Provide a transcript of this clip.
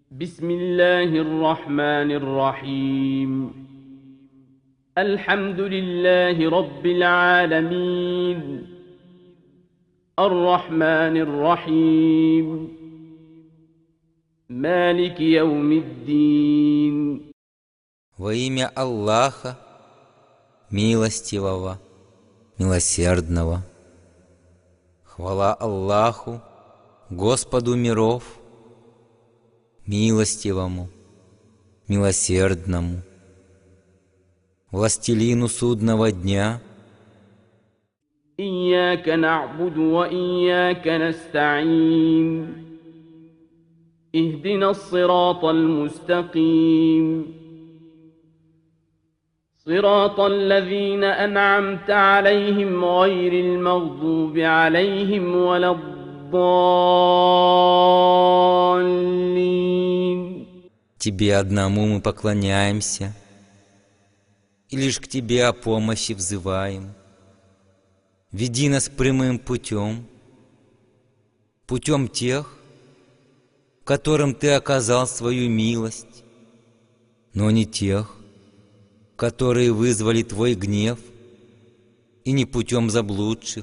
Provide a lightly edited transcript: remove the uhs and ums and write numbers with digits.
بسم الله الرحمن الرحيم. الحمد لله رب العالمين، الرحمن الرحيم، مالك يوم الدين. Во имя Аллаха, милостивого, милосердного. Хвала Аллаху, Господу миров, милостивому, милосердному, властелину судного дня. إياك نعبد وإياك نستعين، اهدنا الصراط المستقيم، صراط الذين أنعمت عليهم غير المغضوب عليهم ولا الضالين. Тебе одному мы поклоняемся, и лишь к Тебе о помощи взываем. Веди нас прямым путем, путем тех, которым Ты оказал свою милость, но не тех, которые вызвали Твой гнев, и не путем заблудших,